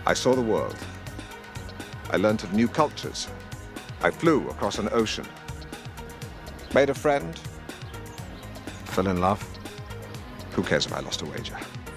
I saw the world. I learnt of new cultures. I flew across an ocean. Made a friend. Fell in love. Who cares if I lost a wager?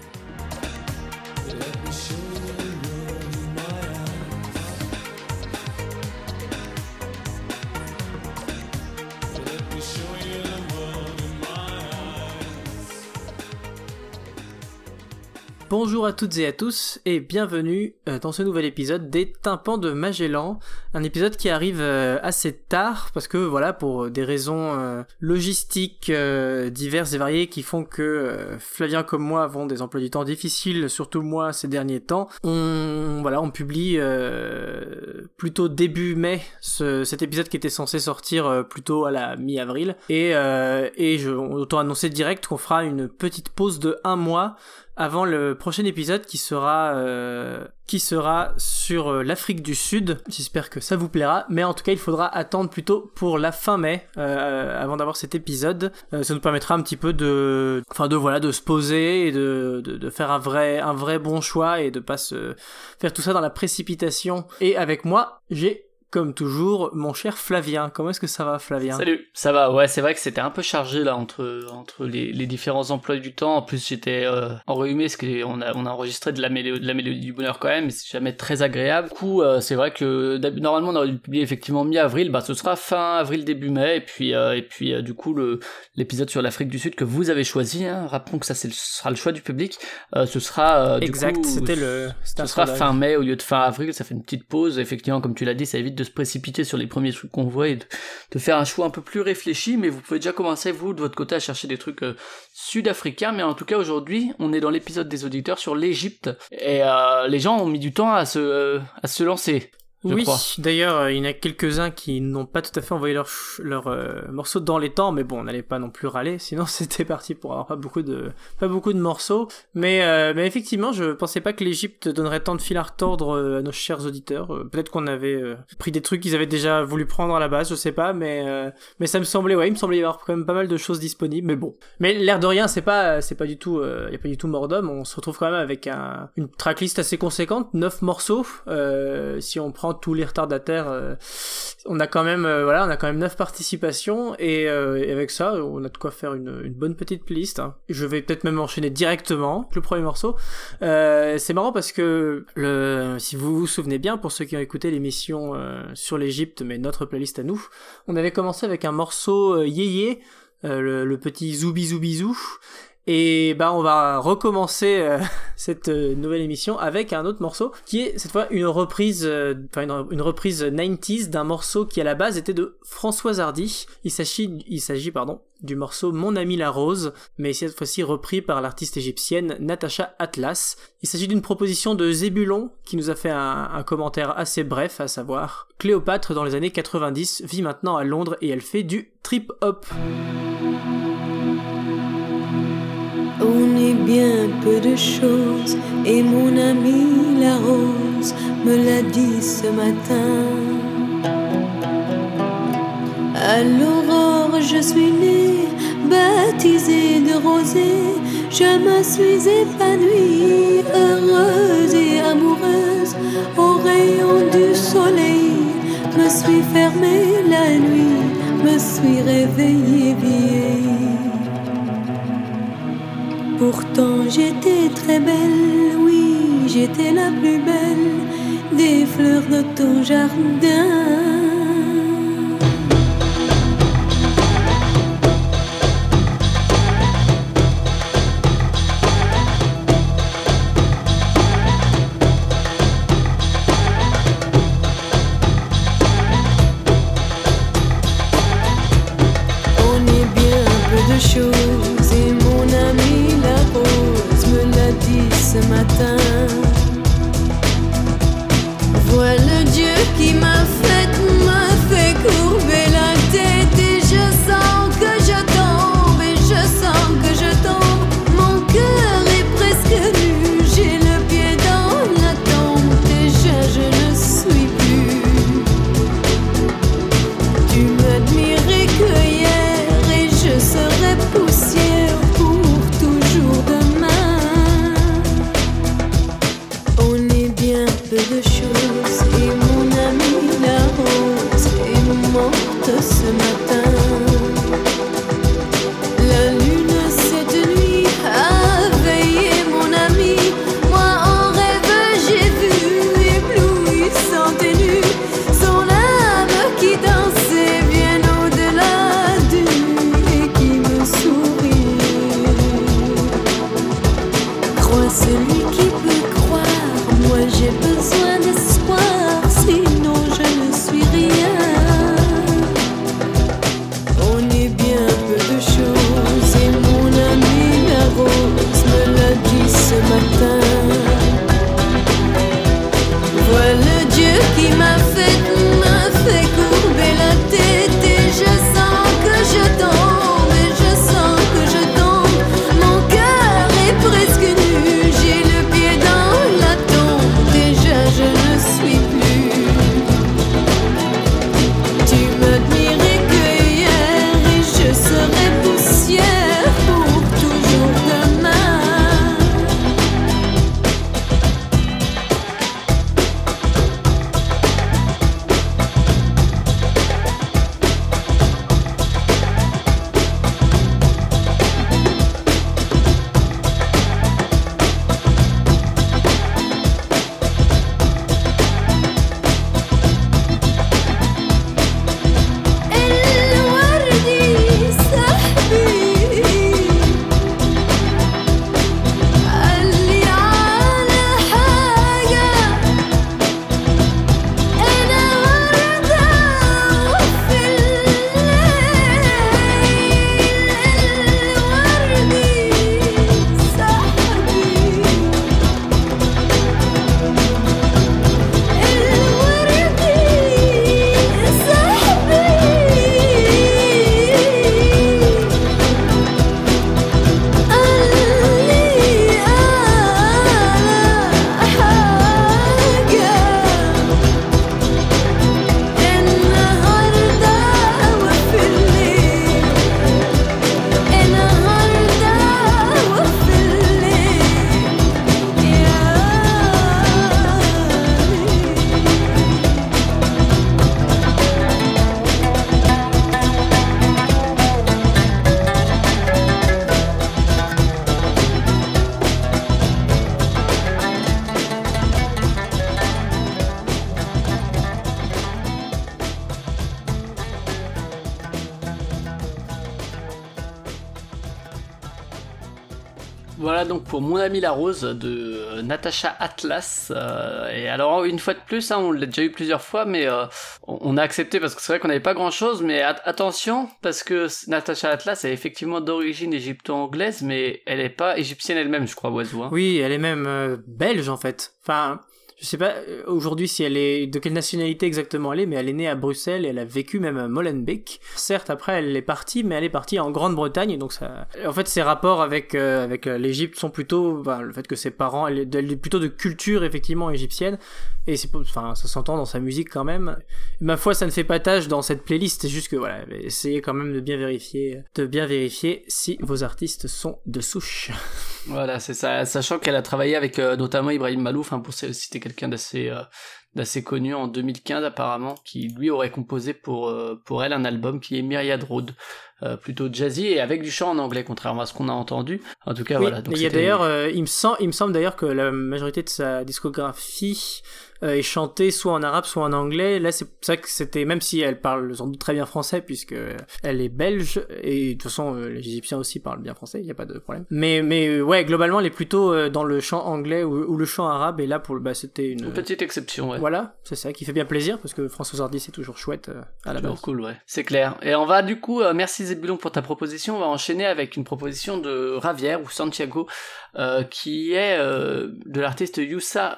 Bonjour à toutes et à tous et bienvenue dans ce nouvel épisode des Tympans de Magellan, un épisode qui arrive assez tard parce que voilà, pour des raisons logistiques diverses et variées qui font que Flavien comme moi avons des emplois du temps difficiles, surtout moi ces derniers temps. On publie plutôt début mai cet épisode qui était censé sortir plutôt à la mi-avril et autant annoncer direct qu'on fera une petite pause de 1 mois avant le prochain épisode qui sera sur l'Afrique du Sud. J'espère que ça vous plaira, mais en tout cas il faudra attendre plutôt pour la fin mai avant d'avoir cet épisode. Ça nous permettra un petit peu de se poser et de faire un vrai bon choix et de pas se faire tout ça dans la précipitation. Et avec moi, j'ai comme toujours, mon cher Flavien. Comment est-ce que ça va, Flavien ? Salut, ça va. Ouais, c'est vrai que c'était un peu chargé là entre les différents emplois du temps. En plus, j'étais enrhumé parce qu'on a enregistré de la mélodie du bonheur quand même, mais c'est jamais très agréable. Du coup, c'est vrai que normalement on aurait dû publier effectivement mi-avril. Ce sera fin avril début mai. Et puis du coup l'épisode sur l'Afrique du Sud que vous avez choisi. Hein, rappelons que ça sera le choix du public. Ce sera exact. Ce sera fin mai au lieu de fin avril. Ça fait une petite pause. Effectivement, comme tu l'as dit, ça évite de se précipiter sur les premiers trucs qu'on voit et de faire un choix un peu plus réfléchi, mais vous pouvez déjà commencer vous de votre côté à chercher des trucs sud-africains. Mais en tout cas aujourd'hui on est dans l'épisode des auditeurs sur l'Égypte et les gens ont mis du temps à se lancer. Oui, d'ailleurs, il y en a quelques-uns qui n'ont pas tout à fait envoyé leur morceaux dans les temps, mais bon, on n'allait pas non plus râler, sinon c'était parti pour avoir pas beaucoup de morceaux. Mais effectivement, je pensais pas que l'Égypte donnerait tant de fil à retordre à nos chers auditeurs. Peut-être qu'on avait pris des trucs qu'ils avaient déjà voulu prendre à la base, je sais pas, mais ça me semblait, il me semblait y avoir quand même pas mal de choses disponibles, mais bon. Mais l'air de rien, c'est pas du tout, y a pas du tout mort d'homme, on se retrouve quand même avec une tracklist assez conséquente, 9 morceaux, si on prend tous les retardataires, on a quand même 9 participations et avec ça on a de quoi faire une bonne petite playlist, hein. Je vais peut-être même enchaîner directement le premier morceau. C'est marrant parce que si vous vous souvenez bien, pour ceux qui ont écouté l'émission sur l'Égypte, mais notre playlist à nous, on avait commencé avec un morceau Yéyé, le petit Zoubi Zoubi Zou. Et on va recommencer cette nouvelle émission avec un autre morceau qui est cette fois une reprise 90s d'un morceau qui à la base était de Françoise Hardy. Il s'agit du morceau Mon ami la rose, mais cette fois-ci repris par l'artiste égyptienne Natacha Atlas. Il s'agit d'une proposition de Zébulon qui nous a fait un commentaire assez bref, à savoir Cléopâtre dans les années 90 vit maintenant à Londres et elle fait du trip-hop. On est bien peu de choses et mon amie la rose me l'a dit ce matin. À l'aurore je suis née, baptisée de rosée. Je me suis épanouie, heureuse et amoureuse. Au rayon du soleil, me suis fermée la nuit, me suis réveillée vieille. Pourtant j'étais très belle, oui, j'étais la plus belle des fleurs de ton jardin. On est bien peu de choses et mon ami la rose me l'a dit ce matin. Vois le Dieu qui m'a fait celui qui peut croire. Moi j'ai besoin d'espoir, sinon je ne suis rien. On est bien peu de choses et mon amie la rose me l'a dit ce matin. Voilà Dieu qui m'a fait courber la tête et je sens que je tombe, et je sens que je tombe. Mon cœur est presque nu, j'ai le pied dans la tombe, déjà je ne suis plus. Tu m'admirais que hier et je serai poussière pour toujours demain. Voilà donc pour Mon Ami la Rose de Natacha Atlas. Et alors une fois de plus, hein, on l'a déjà eu plusieurs fois, mais on a accepté parce que c'est vrai qu'on n'avait pas grand chose. Mais attention, parce que Natacha Atlas est effectivement d'origine égypto-anglaise, mais elle n'est pas égyptienne elle-même, je crois, Oiseau. Hein. Oui, elle est même belge en fait. Enfin, je sais pas aujourd'hui si elle est de quelle nationalité exactement elle est, mais elle est née à Bruxelles et elle a vécu même à Molenbeek. Certes, après elle est partie, mais elle est partie en Grande-Bretagne, donc ça. En fait, ses rapports avec l'Égypte sont plutôt, le fait que ses parents, elle est plutôt de culture effectivement égyptienne, et ça s'entend dans sa musique quand même. Ma foi, ça ne fait pas tâche dans cette playlist. C'est juste que voilà, essayez quand même de bien vérifier si vos artistes sont de souche. Voilà, c'est ça. Sachant qu'elle a travaillé avec notamment Ibrahim Malouf, hein, pour citer quelqu'un d'assez connu en 2015 apparemment, qui lui aurait composé pour elle un album qui est Myriad Road, plutôt jazzy et avec du chant en anglais, contrairement à ce qu'on a entendu. En tout cas, oui, voilà. Donc il y a d'ailleurs, il me semble d'ailleurs que la majorité de sa discographie est chantée soit en arabe soit en anglais. Là, c'est ça que c'était, même si elle parle sans doute très bien français puisque elle est belge, et de toute façon les Égyptiens aussi parlent bien français, il y a pas de problème. Mais ouais, globalement, elle est plutôt dans le chant anglais ou le chant arabe, et là c'était une petite exception, ouais. Voilà, c'est ça qui fait bien plaisir parce que François Hardy c'est toujours chouette à la base. Cool, ouais. C'est clair. Et on va du coup, merci Zébulon pour ta proposition. On va enchaîner avec une proposition de Ravière ou Santiago, qui est de l'artiste Yusra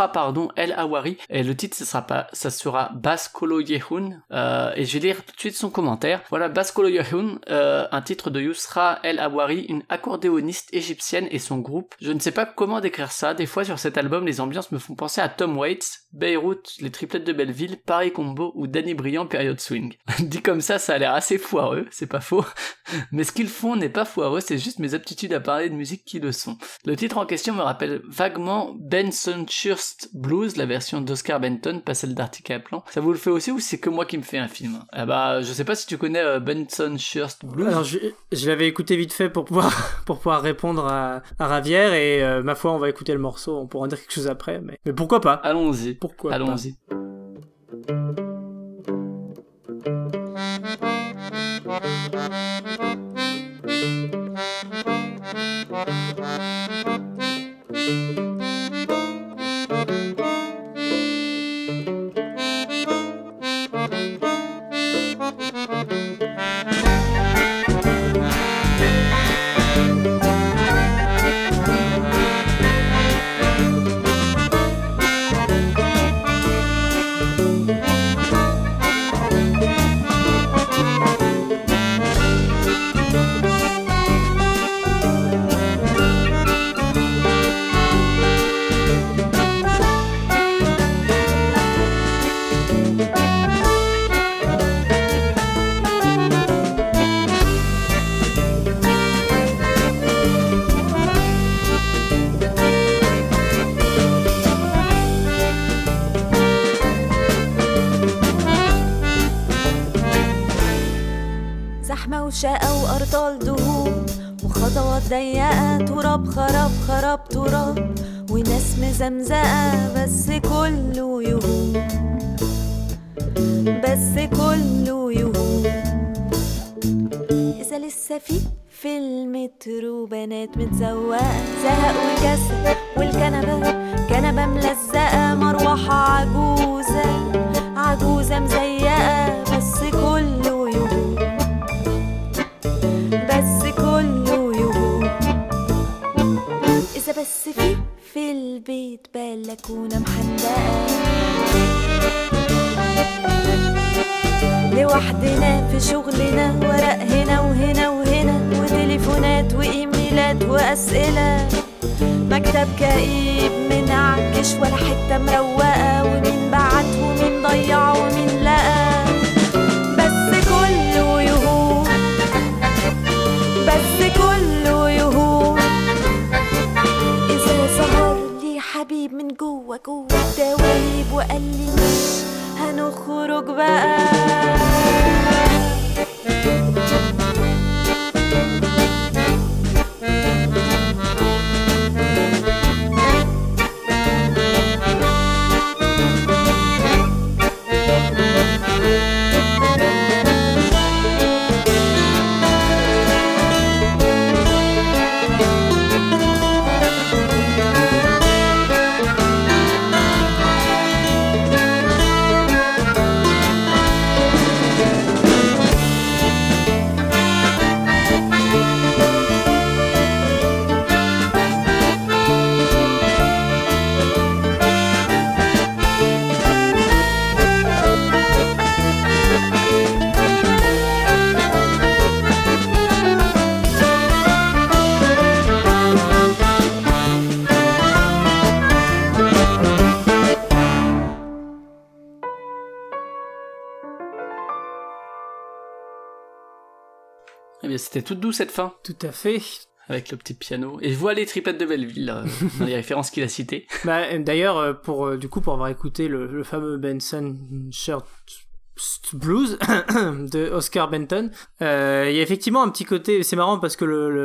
El Awari, et le titre ça sera Baskolo Yehun, et je vais lire tout de suite son commentaire. Voilà, Baskolo Yehun, un titre de Yusra El Awari, une accordéoniste égyptienne et son groupe. Je ne sais pas comment décrire ça. Des fois sur cet album, les ambiances me font penser à Tom Waits, Beyrouth, les triplettes de Belleville, Paris Combo ou Danny Briand période swing. Dit comme ça a l'air assez foireux, c'est pas faux. Mais ce qu'ils font n'est pas foireux, c'est juste mes aptitudes à parler de musique qui le sont. Le titre en question me rappelle vaguement Benson Schurst Blues, la version d'Oscar Benton, pas celle d'Arctic Kaplan. Ça vous le fait aussi ou c'est que moi qui me fais un film? Je sais pas si tu connais Benson Schurst Blues. Alors je l'avais écouté vite fait pour pouvoir répondre à Ravière, et ma foi on va écouter le morceau, on pourra en dire quelque chose après, mais pourquoi pas? Allons-y. Allons-y. أرطال دهور وخطوات ضيقة تراب خراب خراب تراب وناس مزمزقة بس كله يهون بس كله يهون إذا لسه في المترو بنات متزوقة زهق وكسل والكنبة ملزقة مروحة عجوزة مزيقة بس كله يهون بس كله يهون إذا بس في البيت بلكونة محندقة لوحدنا في شغلنا ورق هنا وهنا وهنا وتليفونات وإيميلات وأسئلة مكتب كئيب منعكش ولا حتة مروقة ومين بعت ومين ضيع ومين لقى بس كله يهون بس كله يهون إذا ظهر لي حبيب من جوا الدواليب وقال لي مش هنخرج بقى C'était toute douce cette fin. Tout à fait. Avec le petit piano. Et je vois les tripettes de Belleville dans les références qu'il a citées. Bah, d'ailleurs, pour avoir écouté le fameux Benson Shirt Blues de Oscar Benton, il y a effectivement un petit côté, c'est marrant parce que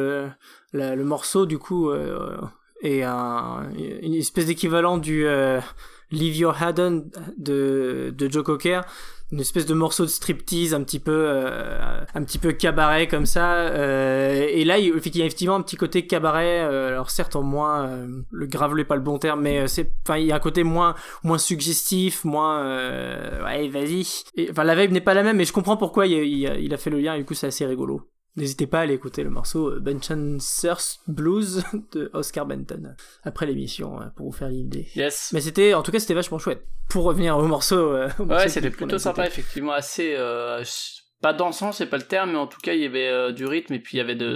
le morceau du coup est une espèce d'équivalent du Leave Your Head On de Joe Cocker, une espèce de morceau de striptease un petit peu cabaret comme ça, et là il y a effectivement un petit côté cabaret, alors certes en moins le gravelé pas le bon terme, mais il y a un côté moins suggestif, moins ouais vas-y, la vibe n'est pas la même, mais je comprends pourquoi il a fait le lien, et du coup c'est assez rigolo. N'hésitez pas à aller écouter le morceau Benchon's Blues de Oscar Benton après l'émission pour vous faire l'idée. Yes. Mais c'était vachement chouette. Pour revenir au morceau. Ouais, c'était plutôt sympa, effectivement, assez pas dansant, c'est pas le terme, mais en tout cas il y avait du rythme et puis il y avait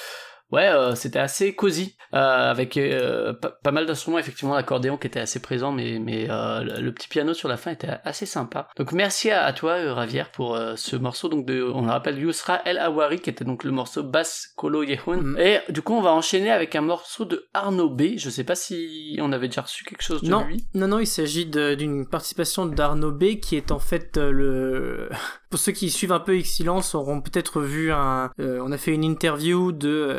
c'était assez cosy, avec pas mal d'instruments, effectivement, l'accordéon qui était assez présent, mais le petit piano sur la fin était assez sympa. Donc merci à toi, Ravière, pour ce morceau, donc on le rappelle, Yousra El Hawari, qui était donc le morceau Bass Kolo Yehun. Et du coup, on va enchaîner avec un morceau de Arnaud B. Je sais pas si on avait déjà reçu quelque chose de lui. Non, il s'agit d'une participation d'Arnaud B, qui est en fait pour ceux qui suivent un peu Excellence auront peut-être vu on a fait une interview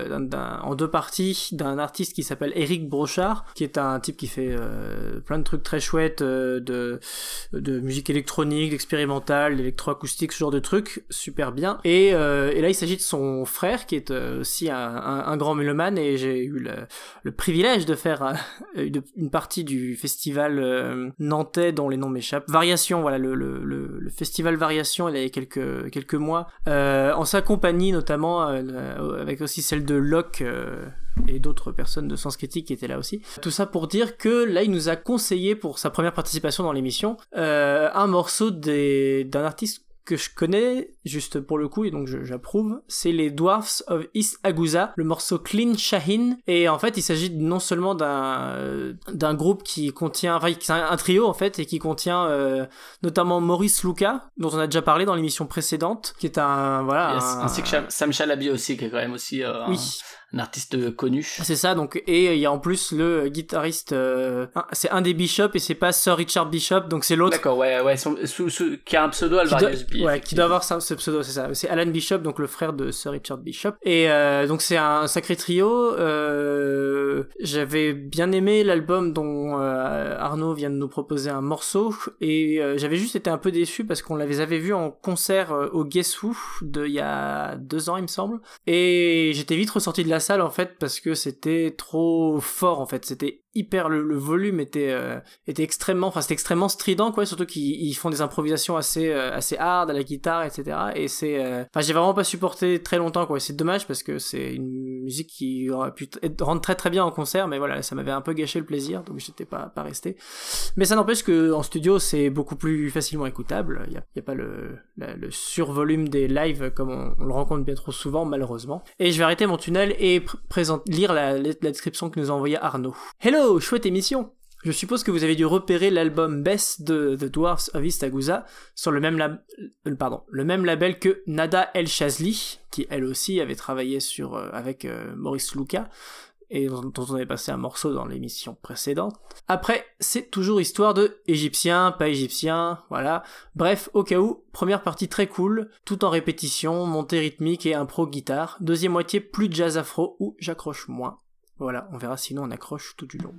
en 2 parties d'un artiste qui s'appelle Eric Brochard, qui est un type qui fait plein de trucs très chouettes, de musique électronique, d'expérimental, d'électroacoustique, ce genre de trucs, super bien. Et là il s'agit de son frère qui est aussi un grand mélomane, et j'ai eu le privilège de faire une partie du festival nantais dont les noms m'échappent. Variation, voilà, le festival Variation, il y a quelques mois, en sa compagnie notamment, avec aussi celle de Locke et d'autres personnes de Sens Critique qui étaient là aussi. Tout ça pour dire que là il nous a conseillé pour sa première participation dans l'émission un morceau d'un artiste que je connais juste pour le coup, et donc j'approuve, c'est les Dwarfs of East Agusa, le morceau Clean Shahin. Et en fait il s'agit non seulement d'un groupe qui contient, c'est un trio en fait, et qui contient notamment Maurice Luca, dont on a déjà parlé dans l'émission précédente, qui est ainsi que Sam Chalabi aussi, qui est quand même aussi un artiste connu. C'est ça, donc, et il y a en plus le guitariste, c'est un des Bishop et c'est pas Sir Richard Bishop, donc c'est l'autre. D'accord, ouais, qui a un pseudo Alvarius B. Ouais, qui doit avoir ce pseudo, c'est ça. C'est Alan Bishop, donc le frère de Sir Richard Bishop. Et donc c'est un sacré trio. J'avais bien aimé l'album dont Arnaud vient de nous proposer un morceau, et j'avais juste été un peu déçu parce qu'on les avait vus en concert au Guess Who il y a 2 ans, il me semble. Et j'étais vite ressorti de la salle en fait parce que c'était trop fort en fait. C'était hyper, le volume était extrêmement, c'était extrêmement strident quoi, surtout qu'ils font des improvisations assez hard à la guitare, etc. Et j'ai vraiment pas supporté très longtemps quoi. C'est dommage parce que c'est une musique qui aurait pu rendre très très bien en concert, mais voilà, ça m'avait un peu gâché le plaisir, donc j'étais pas resté. Mais ça n'empêche que en studio c'est beaucoup plus facilement écoutable. Il y a pas le survolume des lives comme on le rencontre bien trop souvent malheureusement. Et je vais arrêter mon tunnel et lire la description que nous a envoyée Arnaud. Hello, chouette émission. Je suppose que vous avez dû repérer l'album Best de The Dwarfs of East Agusa sur le même label que Nada El Shazli, qui elle aussi avait travaillé avec Maurice Luca, et dont on avait passé un morceau dans l'émission précédente. Après, c'est toujours histoire de égyptien, pas égyptien, voilà. Bref, au cas où, première partie très cool, tout en répétition, montée rythmique et impro guitare. Deuxième moitié plus jazz afro, où j'accroche moins. Voilà, on verra sinon on accroche tout du long.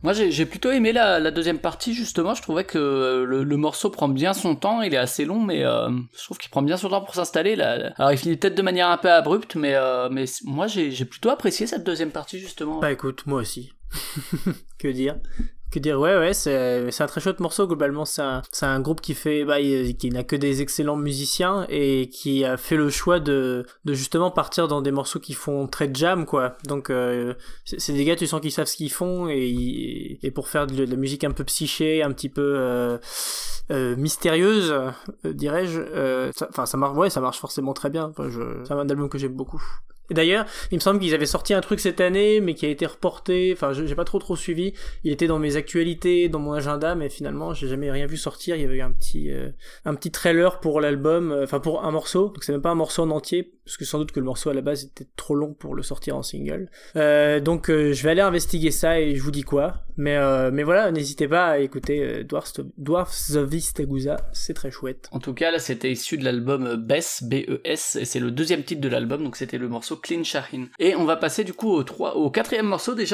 Moi j'ai plutôt aimé la deuxième partie, justement. Je trouvais que le morceau prend bien son temps, il est assez long, mais je trouve qu'il prend bien son temps pour s'installer. Alors il finit peut-être de manière un peu abrupte, mais moi j'ai plutôt apprécié cette deuxième partie, justement. Bah écoute, moi aussi. Que dire, ouais, c'est un très chouette morceau. Globalement, c'est un groupe qui n'a que des excellents musiciens et qui a fait le choix de justement partir dans des morceaux qui font très jam, quoi. Donc c'est des gars, tu sens qu'ils savent ce qu'ils font, et pour faire de la musique un peu psyché, un petit peu mystérieuse, dirais-je. Ça marche, ouais, ça marche forcément très bien. C'est un album que j'aime beaucoup. Et d'ailleurs, il me semble qu'ils avaient sorti un truc cette année, mais qui a été reporté. Enfin, j'ai pas trop suivi. Il était dans mes actualités, dans mon agenda, mais finalement, j'ai jamais rien vu sortir. Il y avait eu un petit trailer pour l'album, pour un morceau. Donc c'est même pas un morceau en entier, parce que sans doute que le morceau à la base était trop long pour le sortir en single. Donc je vais aller investiguer ça et je vous dis quoi. Mais voilà, n'hésitez pas à écouter Dwarfs of East Agusa, c'est très chouette. En tout cas, là, c'était issu de l'album Bess, B-E-S, et c'est le deuxième titre de l'album, donc c'était le morceau Clean Shahin. Et on va passer du coup au quatrième morceau déjà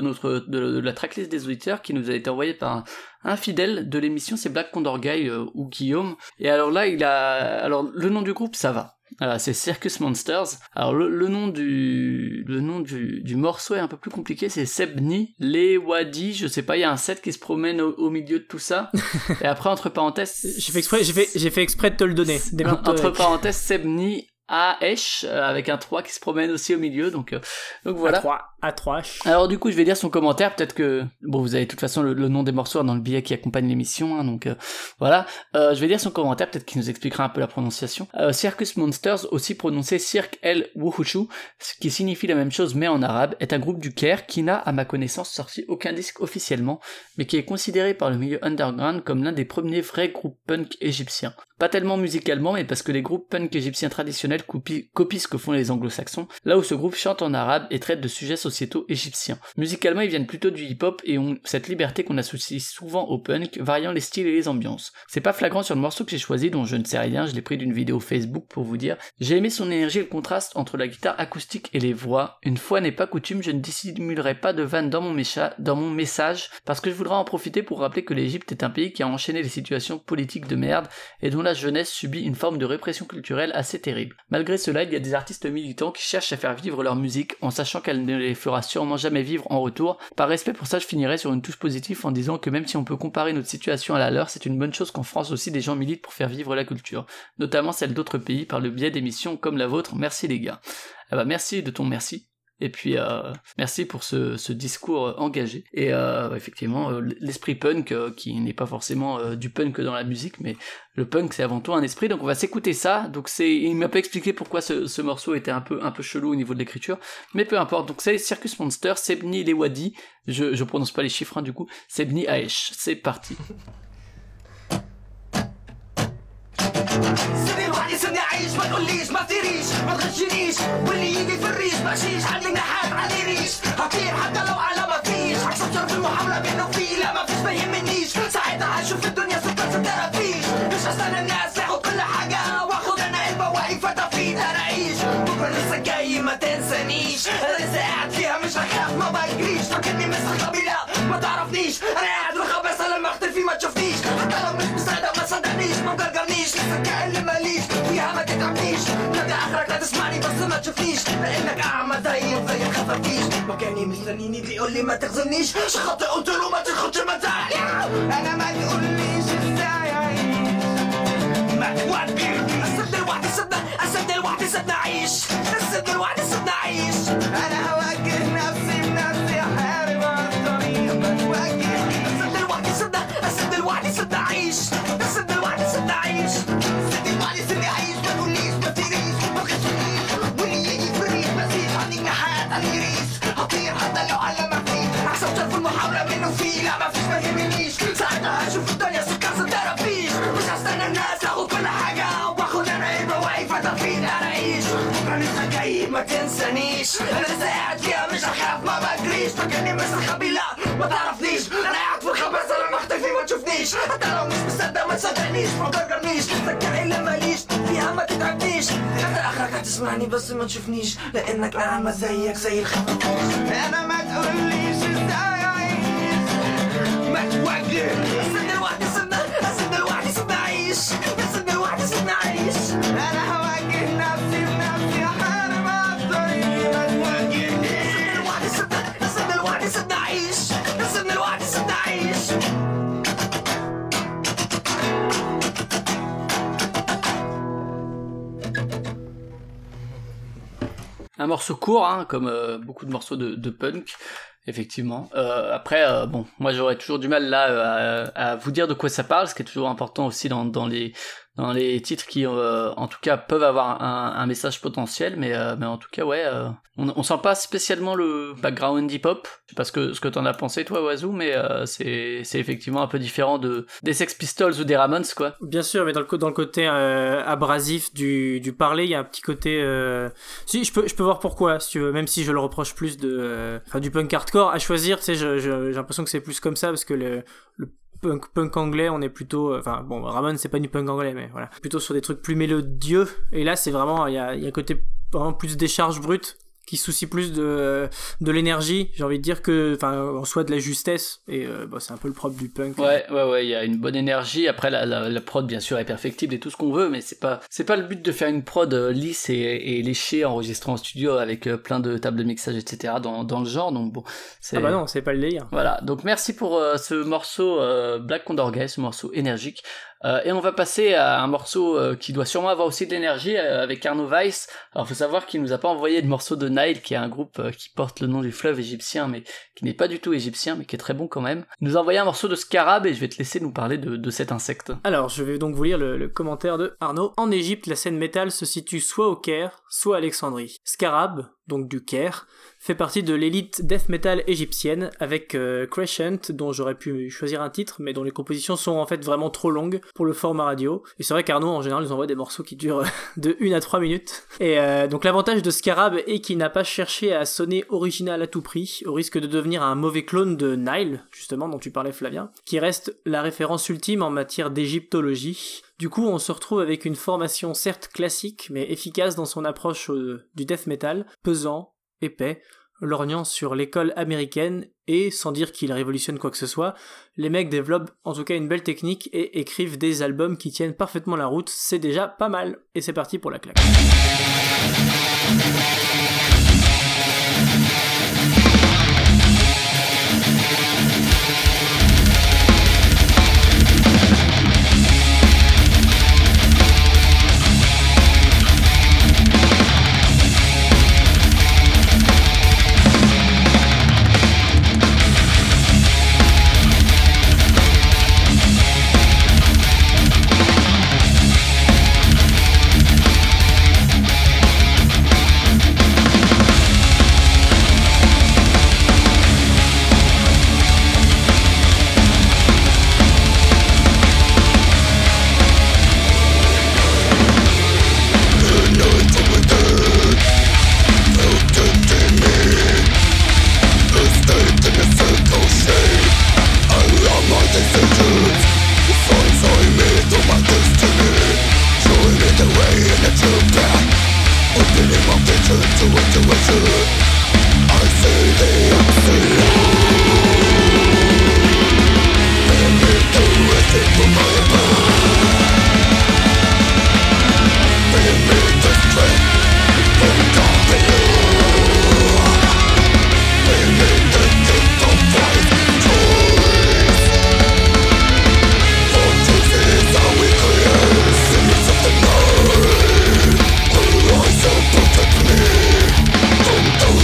de la tracklist des auditeurs, qui nous a été envoyé par un fidèle de l'émission, c'est Black Condor Guy ou Guillaume. Et alors là, le nom du groupe, ça va. Alors, c'est Circus Monsters. Alors le nom du morceau est un peu plus compliqué, c'est Sebni Lewadi, je sais pas, il y a un set qui se promène au milieu de tout ça. Et après, entre parenthèses, j'ai fait exprès de te le donner. Entre parenthèses, Sebni A-H, avec un 3 qui se promène aussi au milieu, donc voilà. A3. Alors du coup, je vais lire son commentaire, peut-être que... Bon, vous avez de toute façon le nom des morceaux dans le billet qui accompagne l'émission, hein, donc voilà. Je vais lire son commentaire, peut-être qu'il nous expliquera un peu la prononciation. Circus Monsters, aussi prononcé Cirque El Wuhushu, ce qui signifie la même chose mais en arabe, est un groupe du Caire qui n'a, à ma connaissance, sorti aucun disque officiellement, mais qui est considéré par le milieu underground comme l'un des premiers vrais groupes punk égyptiens. Pas tellement musicalement, mais parce que les groupes punk égyptiens traditionnels copient ce que font les anglo-saxons, là où ce groupe chante en arabe et traite de sujets sociétaux égyptiens. Musicalement, ils viennent plutôt du hip-hop et ont cette liberté qu'on associe souvent au punk, variant les styles et les ambiances. C'est pas flagrant sur le morceau que j'ai choisi, dont je ne sais rien, je l'ai pris d'une vidéo Facebook pour vous dire. J'ai aimé son énergie et le contraste entre la guitare acoustique et les voix. Une fois n'est pas coutume, je ne dissimulerai pas de vanne dans mon message, parce que je voudrais en profiter pour rappeler que l'Égypte est un pays qui a enchaîné les situations politiques de merde et dont la jeunesse subit une forme de répression culturelle assez terrible. Malgré cela, il y a des artistes militants qui cherchent à faire vivre leur musique en sachant qu'elle ne les fera sûrement jamais vivre en retour. Par respect pour ça, je finirai sur une touche positive en disant que même si on peut comparer notre situation à la leur, c'est une bonne chose qu'en France aussi des gens militent pour faire vivre la culture, notamment celle d'autres pays par le biais d'émissions comme la vôtre. Merci les gars. Ah bah merci de ton merci. Et puis merci pour ce discours engagé. Et effectivement, l'esprit punk, qui n'est pas forcément du punk dans la musique, mais le punk c'est avant tout un esprit. Donc on va s'écouter ça. Donc il m'a pas expliqué pourquoi ce morceau était un peu chelou au niveau de l'écriture, mais peu importe. Donc c'est Circus Monster, Sebni Lewadi. Je prononce pas les chiffres, hein, du coup. Sebni Aesh. C'est parti. سيبني لوحدي سيبني اعيش ما تقوليش ما تطيريش ما تغشنيش واللي يجي في الريش بشيش عندي نحات عندي ريش هطير حتى لو على ما فيش هكسر في المحاولة بينه وفيه لا ما فيش ما يهمنيش ساعتها هشوف الدنيا سكر سترى فيش مش هستنى الناس ياخد كل حاجة واخد انا قلبة واقف فتفيت انا اعيش بكرة لسه جاي ما تنسانيش انا لسه قاعد فيها مش هخاف ما بجريش فاكرني مستخبي لا ما تعرفنيش انا قاعد بخبص لما اختفي ما تشوفنيش حتى لو مش مصدق ما تصدقنيش ما مجرجرنيش لسه كأن ماليش فيها ما تتعبنيش نادي اخرك لا تسمعني بس ما تشوفنيش لانك اعمى زي خفافيش مكاني مستنيني بيقول لي ما تخزنيش شخطي قلت له ما تاخدش مزاج انا ما تقوليش ازاي اعيش ما توديني اسد لوحدي سيبنا اعيش اسد لوحدي سيبنا اعيش انا هواجه نفسي بنفسي احارب على الطريق بتواجه اسد لوحدي سيبنا اعيش اسد لوحدي سيبنا اعيش سيبني اعيش ما تقوليش ما تطيريش ما تغشنيش واللي يجي في الريح مزيد عندي جناحات عندي ريش هطير حتى لو على ما فيه هكسب شرف المحاولة منه فيه لا ما فيش ما يهمنيش ساعتها هشوف الدنيا سكر سترى فيش مش هستنى الناس ياخد كل حاجة واخد انا قلبة واقف فتفيد انا اعيش بكرة لسه جاي ما تنسانيش انا لسه قاعد فيها مش هخاف ما بجريش فاكرني مستخبي لا ما تعرفنيش انا قاعد في الخباثة لما اختفي ما تشوفنيش حتى لو مش مصدق ما تصدقنيش ما تجرجرنيش فاكر الا ماليش فيها ما تتعبنيش انت اخرك هتسمعني بس ما تشوفنيش لانك اعمى زيك زي الخفافيش انا ما تقوليش ازاي اعيش وعقل سيبنا لوحدي سيبنا لوحدي سيبنا عيش سيبنا لوحدي سيبنا عيش انا هواجه نفسي بنفسي احارب الطريق ما تواجهنيش سيبنا لوحدي سيبنا عيش سيبنا لوحدي سيبنا عيش. Un morceau court, hein, comme beaucoup de morceaux de punk, effectivement. Après, bon, moi j'aurais toujours du mal là à vous dire de quoi ça parle, ce qui est toujours important aussi dans les titres qui, en tout cas, peuvent avoir un message potentiel, mais en tout cas, ouais, on sent pas spécialement le background hip-hop. Je sais pas ce que t'en as pensé, toi, Oazou, mais c'est effectivement un peu différent des Sex Pistols ou des Ramones, quoi. Bien sûr, mais dans le côté abrasif du parler, il y a un petit côté... Si, je peux voir pourquoi, si tu veux, même si je le reproche plus du punk hardcore. À choisir, tu sais, j'ai l'impression que c'est plus comme ça, parce que le punk anglais, on est plutôt... Enfin, bon, Ramones, c'est pas du punk anglais, mais voilà. Plutôt sur des trucs plus mélodieux, et là, c'est vraiment... Il y a un côté vraiment plus décharge brute, qui se soucie plus de l'énergie, j'ai envie de dire, que en soit de la justesse, et c'est un peu le propre du punk. Ouais, il y a une bonne énergie. Après la prod bien sûr est perfectible et tout ce qu'on veut, mais c'est pas le but de faire une prod lisse et léchée enregistrée en studio avec plein de tables de mixage etc. dans le genre. Donc bon, ah bah non, c'est pas le délire. Voilà, donc merci pour ce morceau Black Condor Gay, ce morceau énergique. Et on va passer à un morceau qui doit sûrement avoir aussi de l'énergie avec Arno Weiss. Alors faut savoir qu'il nous a pas envoyé de morceau de Nile, qui est un groupe qui porte le nom du fleuve égyptien, mais qui n'est pas du tout égyptien, mais qui est très bon quand même. Il nous a envoyé un morceau de Scarab et je vais te laisser nous parler de cet insecte. Alors je vais donc vous lire le commentaire de Arnaud. En Égypte, la scène métal se situe soit au Caire, soit à Alexandrie. Scarab, donc du Caire, fait partie de l'élite death metal égyptienne avec Crescent, dont j'aurais pu choisir un titre, mais dont les compositions sont en fait vraiment trop longues pour le format radio. Et c'est vrai qu'Arnaud, en général, nous envoie des morceaux qui durent de 1 à 3 minutes. Et donc l'avantage de Scarab est qu'il n'a pas cherché à sonner original à tout prix, au risque de devenir un mauvais clone de Nile, justement, dont tu parlais Flavien, qui reste la référence ultime en matière d'égyptologie. Du coup, on se retrouve avec une formation certes classique, mais efficace dans son approche du death metal, pesant, épais, lorgnant sur l'école américaine, et sans dire qu'il révolutionne quoi que ce soit, les mecs développent en tout cas une belle technique et écrivent des albums qui tiennent parfaitement la route, c'est déjà pas mal. Et c'est parti pour la claque. Don't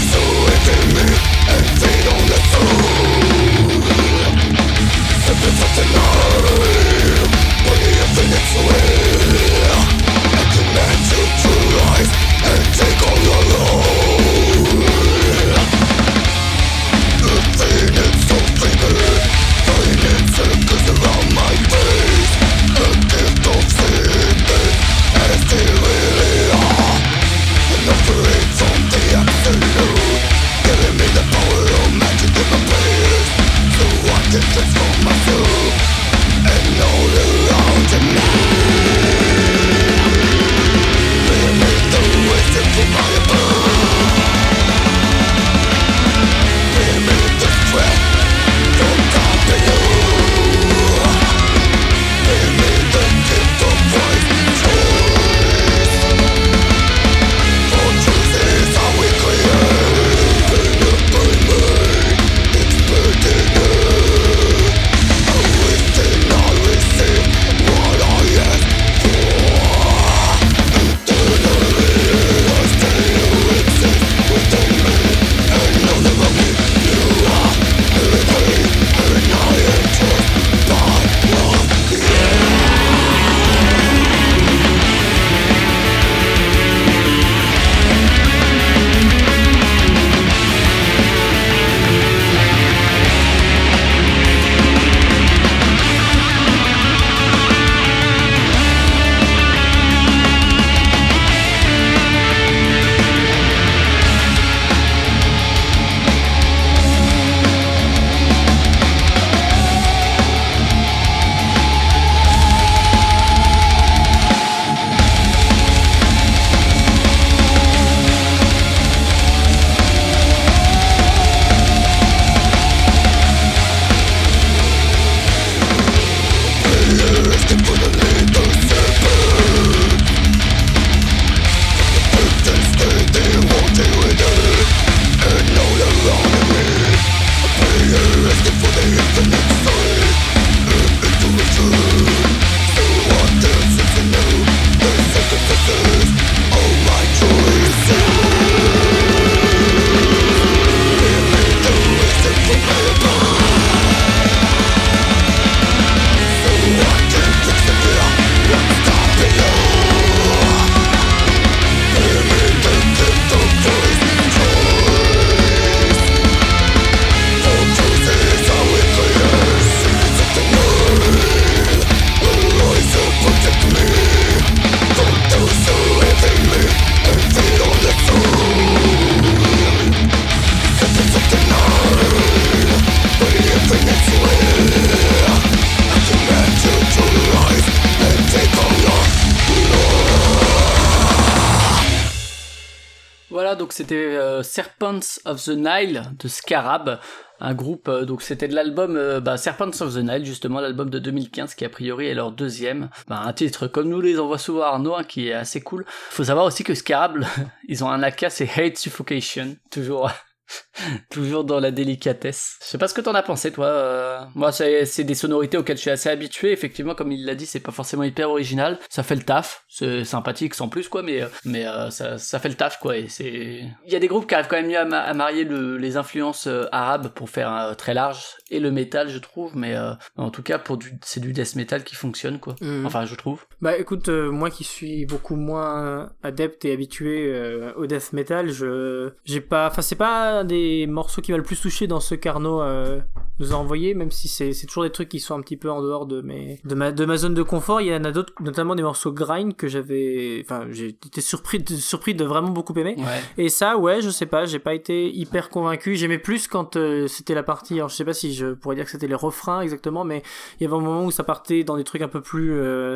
Voilà, donc c'était Serpents of the Nile de Scarab, un groupe, donc c'était de l'album Serpents of the Nile, justement l'album de 2015 qui a priori est leur deuxième. Un titre comme nous les envoie souvent Arnaud, hein, qui est assez cool. Faut savoir aussi que Scarab, ils ont un AK, c'est Hate Suffocation, toujours dans la délicatesse. Je sais pas ce que t'en as pensé, toi. Moi, c'est des sonorités auxquelles je suis assez habitué. Effectivement, comme il l'a dit, c'est pas forcément hyper original. Ça fait le taf. C'est sympathique sans plus, quoi. Mais ça fait le taf, quoi. Et il y a des groupes qui arrivent quand même mieux à marier les influences arabes pour faire un très large et le métal, je trouve. Mais en tout cas, c'est du death metal qui fonctionne, quoi. Enfin, je trouve. Bah, écoute, moi qui suis beaucoup moins adepte et habitué au death metal, c'est pas un des morceaux qui m'a le plus touché dans ce qu'Arnaud nous a envoyé, même si c'est toujours des trucs qui sont un petit peu en dehors de ma zone de confort. Il y en a d'autres, notamment des morceaux grind que j'ai été surpris de vraiment beaucoup aimer. Ouais. Et ça, ouais, je sais pas, j'ai pas été hyper convaincu. J'aimais plus quand c'était la partie, alors je sais pas si je pourrais dire que c'était les refrains exactement, mais il y avait un moment où ça partait dans des trucs un peu plus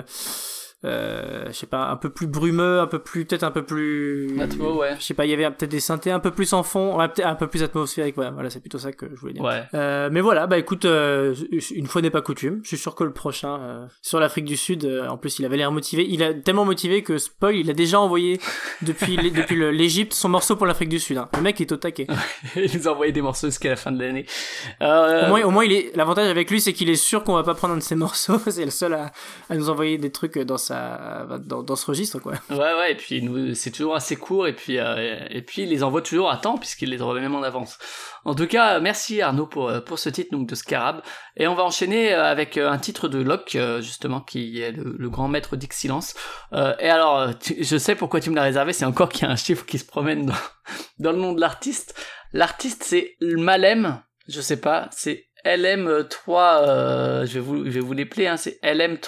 je sais pas, un peu plus brumeux, peut-être un peu plus Atmo, ouais. Je sais pas, il y avait peut-être des synthés un peu plus en fond, ouais, peut-être un peu plus atmosphérique, voilà, c'est plutôt ça que je voulais dire. Ouais. Mais voilà, bah écoute, une fois n'est pas coutume, je suis sûr que le prochain sur l'Afrique du Sud, en plus il avait l'air motivé, il a tellement motivé que spoil, il a déjà envoyé depuis l'Égypte son morceau pour l'Afrique du Sud, hein. Le mec est au taquet. Il nous a envoyé des morceaux jusqu'à la fin de l'année. Au moins l'avantage avec lui, c'est qu'il est sûr qu'on va pas prendre un de ses morceaux. C'est le seul à nous envoyer des trucs dans ce registre, quoi. Ouais, et puis c'est toujours assez court, et puis il les envoie toujours à temps puisqu'il les envoie même en avance. En tout cas, merci Arnaud pour ce titre donc de Scarab, et on va enchaîner avec un titre de Locke, justement, qui est le grand maître d'Ixilence. Et alors, je sais pourquoi tu me l'as réservé, c'est encore qu'il y a un chiffre qui se promène dans le nom de l'artiste. L'artiste, c'est Malem, je sais pas, c'est LM3, je vais vous l'épeler, hein, c'est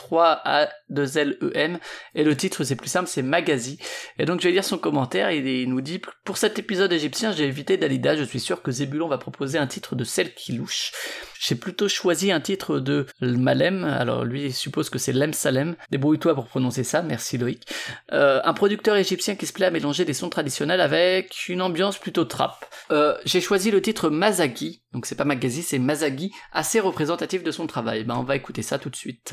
LM3A2LEM, et le titre c'est plus simple, c'est Magazi. Et donc je vais lire son commentaire, il nous dit: pour cet épisode égyptien, j'ai évité Dalida, je suis sûr que Zébulon va proposer un titre de Celle qui louche. J'ai plutôt choisi un titre de Malem, alors lui il suppose que c'est Lem Salem, débrouille-toi pour prononcer ça, merci Loïc. Un producteur égyptien qui se plaît à mélanger des sons traditionnels avec une ambiance plutôt trap. J'ai choisi le titre Mazagi, donc c'est pas Magazi, c'est Mazagi, assez représentatif de son travail. On va écouter ça tout de suite.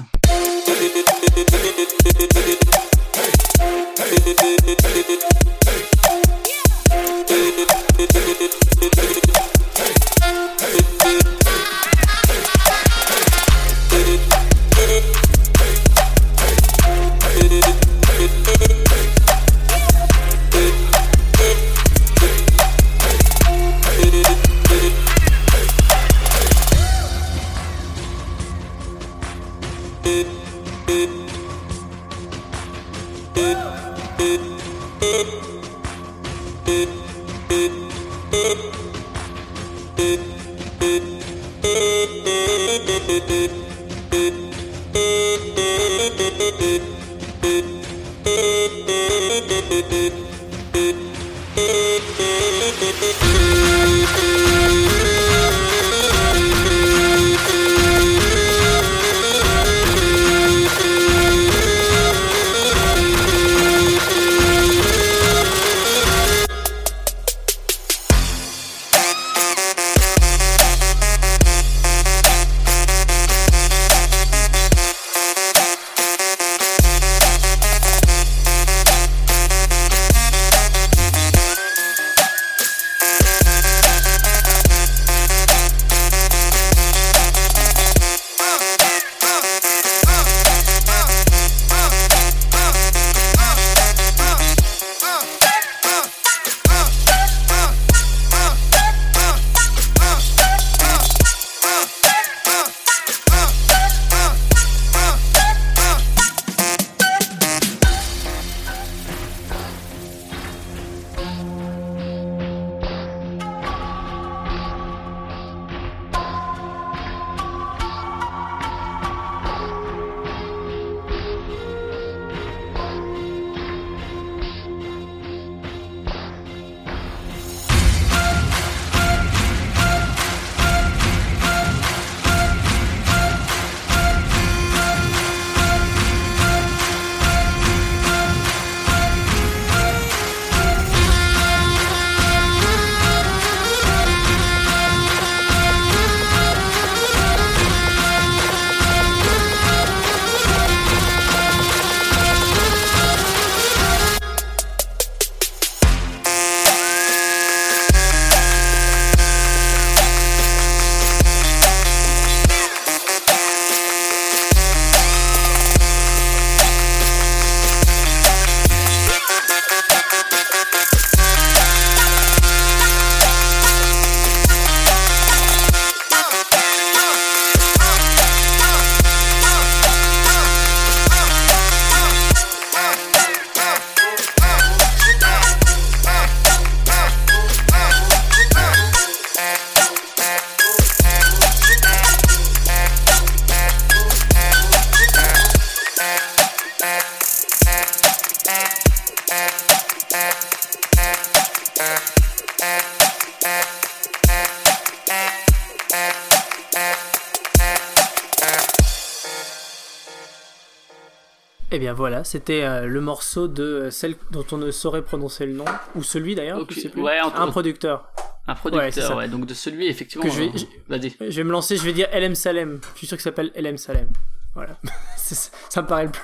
Et bien voilà, c'était le morceau de celle dont on ne saurait prononcer le nom, ou celui d'ailleurs, Ok, je sais plus. ouais, Un producteur. Un Ouais, c'est producteur, ça. ouais, donc de celui, effectivement. Que Vas-y. Je vais me lancer, je vais dire LM Salem. Je suis sûr qu'il s'appelle LM Salem. Voilà. Ça me paraît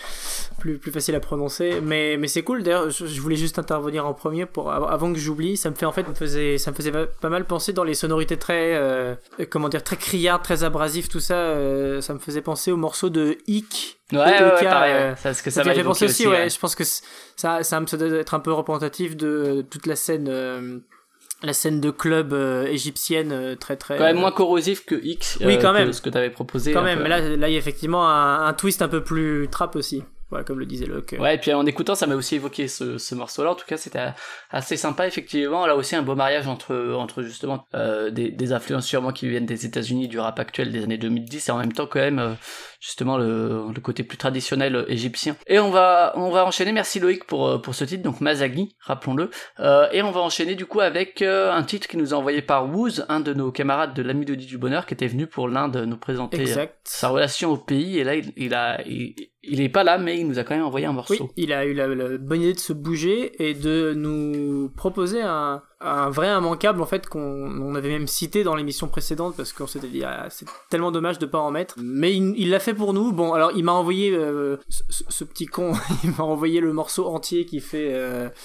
le plus facile à prononcer. Mais c'est cool. D'ailleurs, je voulais juste intervenir en premier avant que j'oublie. Ça me faisait pas mal penser dans les sonorités très, très criardes, très abrasives, tout ça. Ça me faisait penser au morceau de Hic. Ouais, pareil. Ouais. Ça, parce que ça m'a fait penser aussi, ouais. Je pense que ça doit être un peu représentatif de toute la scène. La scène de club égyptienne très très quand même moins corrosif que X, oui, quand même. Que ce que t'avais proposé quand même, mais là il y a effectivement un twist un peu plus trap aussi, voilà, comme le disait Locke. Ouais, et puis en écoutant ça m'a aussi évoqué ce morceau là, en tout cas c'était assez sympa effectivement. Là aussi un beau mariage entre justement des influences sûrement qui viennent des États-Unis, du rap actuel des années 2010, et en même temps quand même justement le côté plus traditionnel égyptien. Et on va enchaîner, merci Loïc pour ce titre, donc Mazaghi, rappelons-le, et on va enchaîner du coup avec un titre qui nous a envoyé par Woz, un de nos camarades de la Mélodie du Bonheur, qui était venu pour l'Inde nous présenter sa relation au pays, et là il est pas là, mais il nous a quand même envoyé un morceau. Oui, il a eu la bonne idée de se bouger et de nous proposer un vrai immanquable, en fait, qu'on avait même cité dans l'émission précédente, parce qu'on s'était dit, c'est tellement dommage de pas en mettre. Mais il l'a fait pour nous. Bon, alors il m'a envoyé, ce petit con, il m'a envoyé le morceau entier qui fait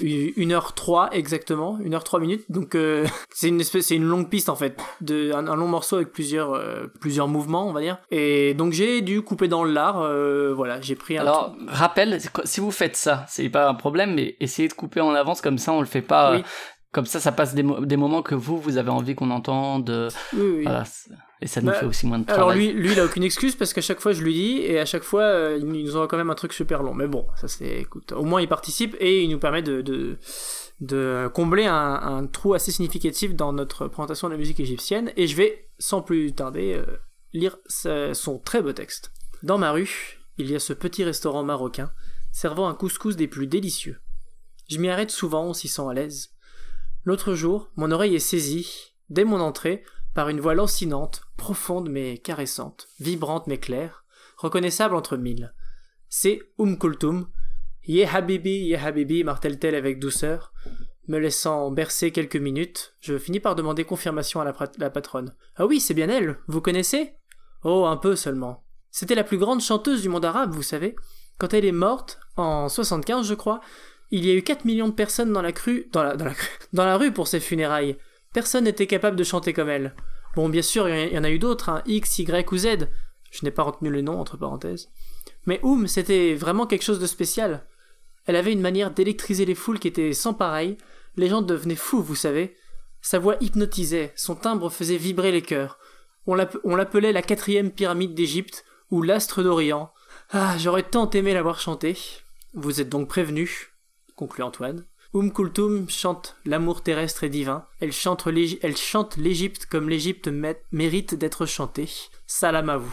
1h03 exactement, 1h03 minutes. Donc c'est une longue piste, en fait, un long morceau avec plusieurs mouvements, on va dire. Et donc j'ai dû couper dans le lard, voilà, j'ai pris un... Alors, rappel, si vous faites ça, c'est pas un problème, mais essayez de couper en avance, comme ça on le fait pas... Oui. Comme ça passe des moments que vous avez envie qu'on entende. Oui. Voilà, et ça nous fait aussi moins de travail. Alors lui, il a aucune excuse, parce qu'à chaque fois je lui dis, et à chaque fois il nous envoie quand même un truc super long. Mais bon, ça c'est, écoute, au moins il participe et il nous permet de combler un trou assez significatif dans notre présentation de la musique égyptienne. Et je vais, sans plus tarder, lire son très beau texte. Dans ma rue, il y a ce petit restaurant marocain servant un couscous des plus délicieux. Je m'y arrête souvent, on s'y sent à l'aise. L'autre jour, mon oreille est saisie, dès mon entrée, par une voix lancinante, profonde mais caressante, vibrante mais claire, reconnaissable entre mille. C'est Kulthum. Yé Habibi, martèle-t-elle avec douceur. Me laissant bercer quelques minutes, je finis par demander confirmation à la patronne. Ah oui, c'est bien elle, vous connaissez ? Oh, un peu seulement. C'était la plus grande chanteuse du monde arabe, vous savez. Quand elle est morte, en 75 je crois, il y a eu 4 millions de personnes dans la rue pour ses funérailles. Personne n'était capable de chanter comme elle. Bon, bien sûr, il y en a eu d'autres, X, Y ou Z. Je n'ai pas retenu le nom, entre parenthèses. Mais c'était vraiment quelque chose de spécial. Elle avait une manière d'électriser les foules qui était sans pareil. Les gens devenaient fous, vous savez. Sa voix hypnotisait, son timbre faisait vibrer les cœurs. On l'appelait la 4e pyramide d'Égypte, ou l'astre d'Orient. Ah, j'aurais tant aimé la voir chanter. Vous êtes donc prévenus, conclut Antoine. Kulthum chante l'amour terrestre et divin. Elle chante l'Égypte comme l'Égypte mérite d'être chantée. Salam à vous.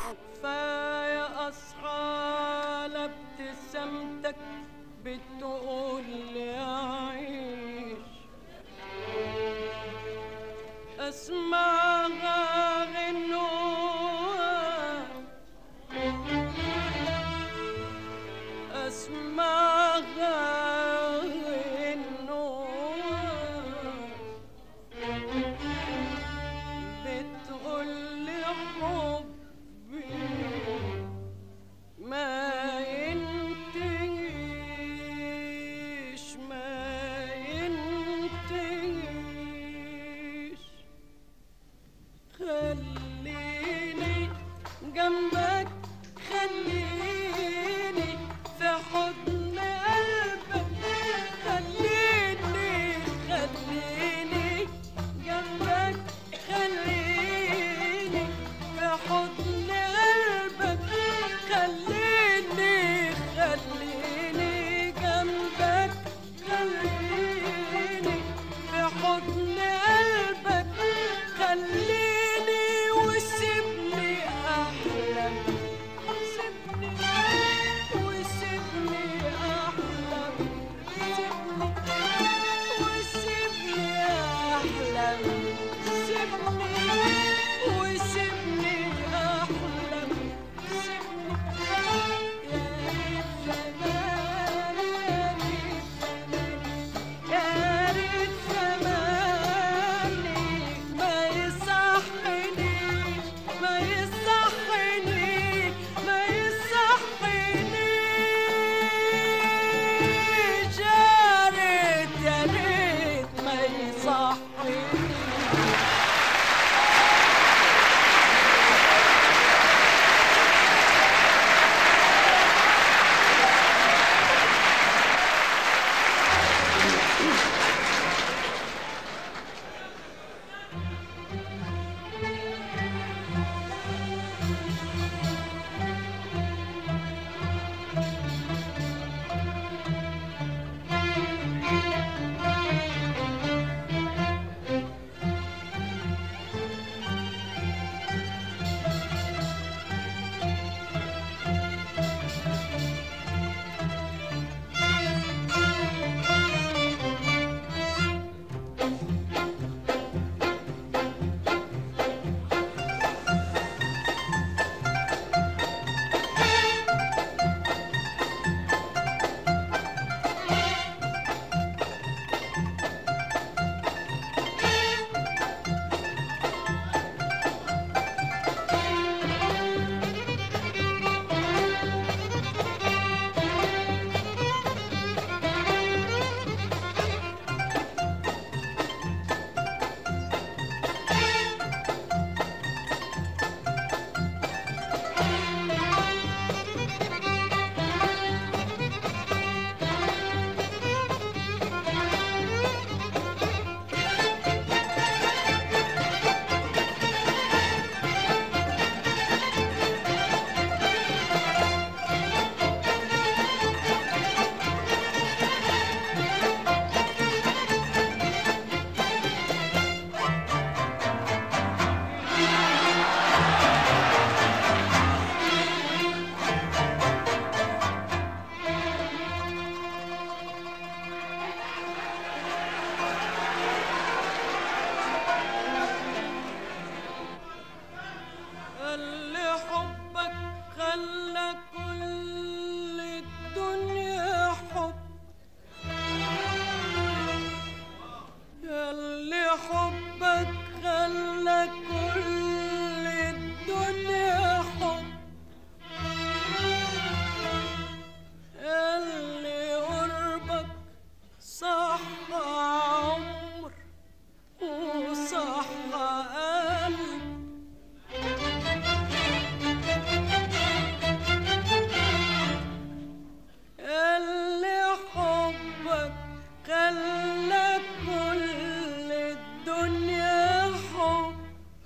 خلى كل الدنيا حب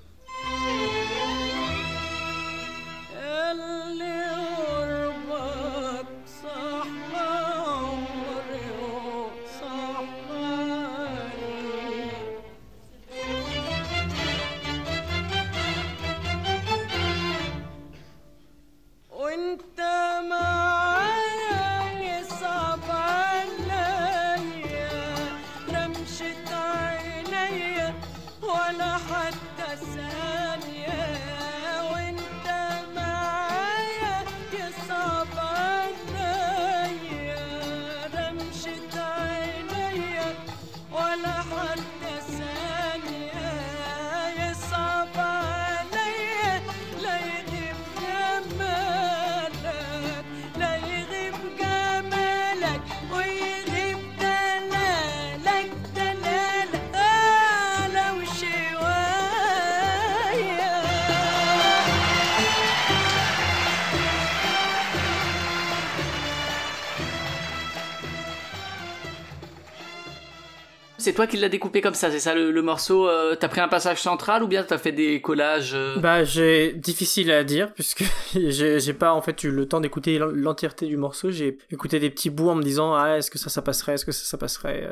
اللي قربك صح عمري وصح عليك وانت معايا يصعب عليا رمشة عينيا ولا حتى ثانية وانت معايا يصعب عليا رمشة عينيا ولا حتى ثانية يصعب عليا لا يغيب جمالك لا يغيب جمالك ويغيب دلالك دلالك لو شوية C'est toi qui l'as découpé comme ça, c'est ça le morceau t'as pris un passage central ou bien t'as fait des collages Bah, difficile à dire, puisque j'ai pas, en fait, eu le temps d'écouter l'entièreté du morceau. J'ai écouté des petits bouts en me disant, ah, est-ce que ça passerait, est-ce que ça passerait,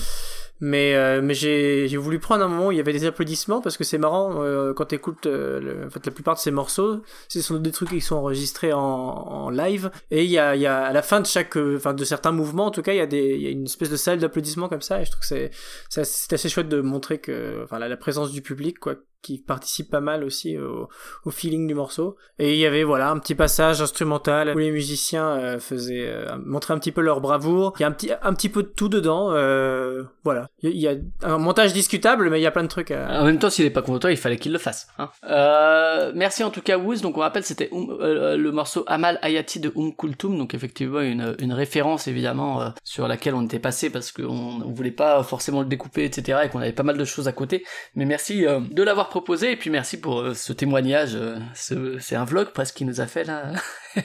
mais j'ai voulu prendre un moment où il y avait des applaudissements, parce que c'est marrant, quand t'écoutes, en fait, la plupart de ces morceaux, ce sont des trucs qui sont enregistrés en live, et il y a, à la fin de chaque, enfin, de certains mouvements, en tout cas, il y a une espèce de salle d'applaudissements comme ça, et je trouve que c'est assez chouette de montrer que, enfin, la présence du public, quoi, qui participe pas mal aussi au feeling du morceau. Et il y avait, voilà, un petit passage instrumental où les musiciens montraient un petit peu leur bravoure. Il y a un petit peu de tout dedans, voilà. Il y a un montage discutable, mais il y a plein de trucs En même temps, s'il est pas content, il fallait qu'il le fasse, hein. Merci en tout cas Wouz. Donc on rappelle, c'était le morceau Amal Hayati de Kulthum, donc effectivement une référence évidemment sur laquelle on était passé parce qu'on voulait pas forcément le découper, etc., et qu'on avait pas mal de choses à côté. Mais merci de l'avoir proposé, et puis merci pour ce témoignage. C'est un vlog presque qu'il nous a fait là.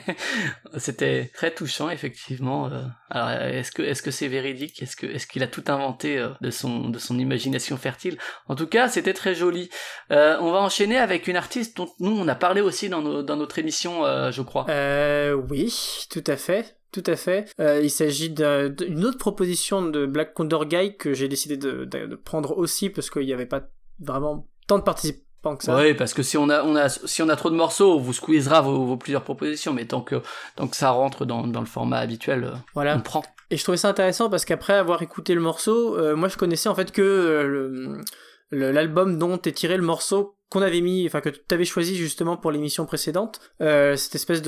C'était très touchant effectivement. Alors est-ce que c'est véridique? Est-ce qu'il a tout inventé de son imagination fertile? En tout cas, c'était très joli. On va enchaîner avec une artiste dont nous on a parlé aussi dans notre émission, je crois. Oui, tout à fait. Tout à fait. Il s'agit d'une autre proposition de Black Condor Guy que j'ai décidé de prendre aussi parce qu'il n'y avait pas vraiment tant de participants que ça. Oui, parce que si on a trop de morceaux, on vous squeezera vos plusieurs propositions, mais tant que ça rentre dans le format habituel, voilà. On prend. Et je trouvais ça intéressant parce qu'après avoir écouté le morceau, moi je connaissais en fait que l'album dont est tiré le morceau qu'on avait mis, enfin que tu avais choisi justement pour l'émission précédente, cette espèce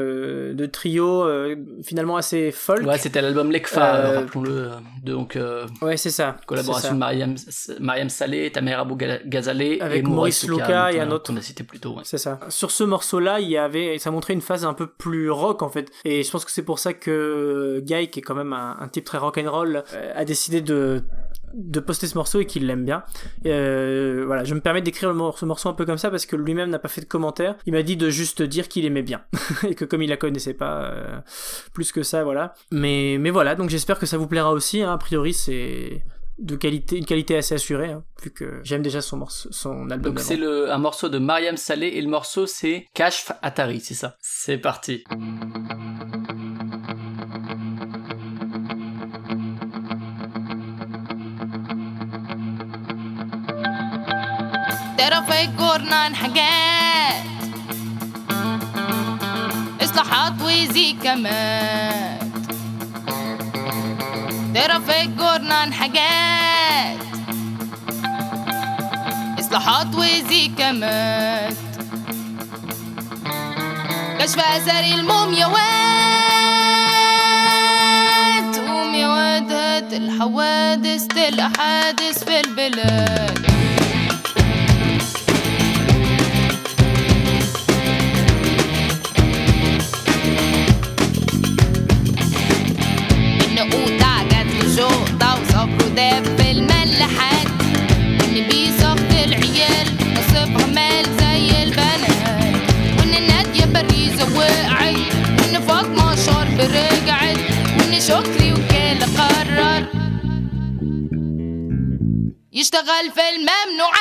de trio finalement assez folk. Ouais, c'était l'album Lekfa, rappelons-le, donc ouais, c'est ça. Collaboration de Mariam Saleh, Tamer Abou Ghazaleh avec et Maurice Luka et un autre qu'on a cité plus tôt. Ouais. C'est ça. Sur ce morceau-là, ça montrait une phase un peu plus rock en fait, et je pense que c'est pour ça que Guy, qui est quand même un type très rock'n'roll, a décidé de poster ce morceau et qu'il l'aime bien. Voilà, je me permets d'écrire ce morceau un peu comme ça parce que lui-même n'a pas fait de commentaire. Il m'a dit de juste dire qu'il aimait bien et que comme il la connaissait pas plus que ça, voilà. Mais voilà, donc j'espère que ça vous plaira aussi, hein. A priori c'est une qualité assez assurée, hein, vu que j'aime déjà son album. Donc c'est un morceau de Mariam Saleh et le morceau c'est Kashf Atari, c'est ça. C'est parti. ترى في جورنان حاجات إصلاحات وزيكامات ترى في جورنان حاجات إصلاحات وزيكامات كشف أثر المومياوات ومياوات هات الحوادث الأحادث في البلاد داب في الملاحات وإن بيصف العيال نصب عمال زي البنات وإن نادية باريزة وقعت وإن فاطمة شرب رجعت وإن شكري وكالة قرر يشتغل في الممنوعات.